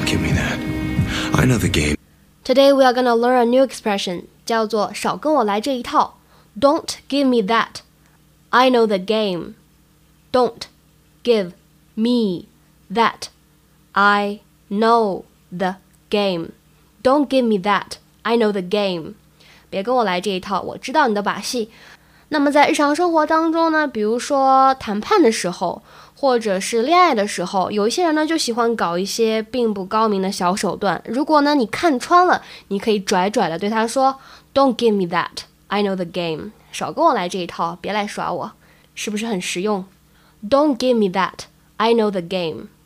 Don't give me that. I know the game. Today we are gonna learn a new expression, 叫做少跟我来这一套。Don't give me that. I know the game. Don't give me that. I know the game. Don't give me that. I know the game. 别跟我来这一套，我知道你的把戏。那么在日常生活当中呢，比如说谈判的时候，或者是恋爱的时候，有一些人呢就喜欢搞一些并不高明的小手段。如果呢你看穿了，你可以拽拽的对他说 Don't give me that. I know the game. 少跟我来这一套，别来耍我，是不是很实用？ Don't give me that. I know the game.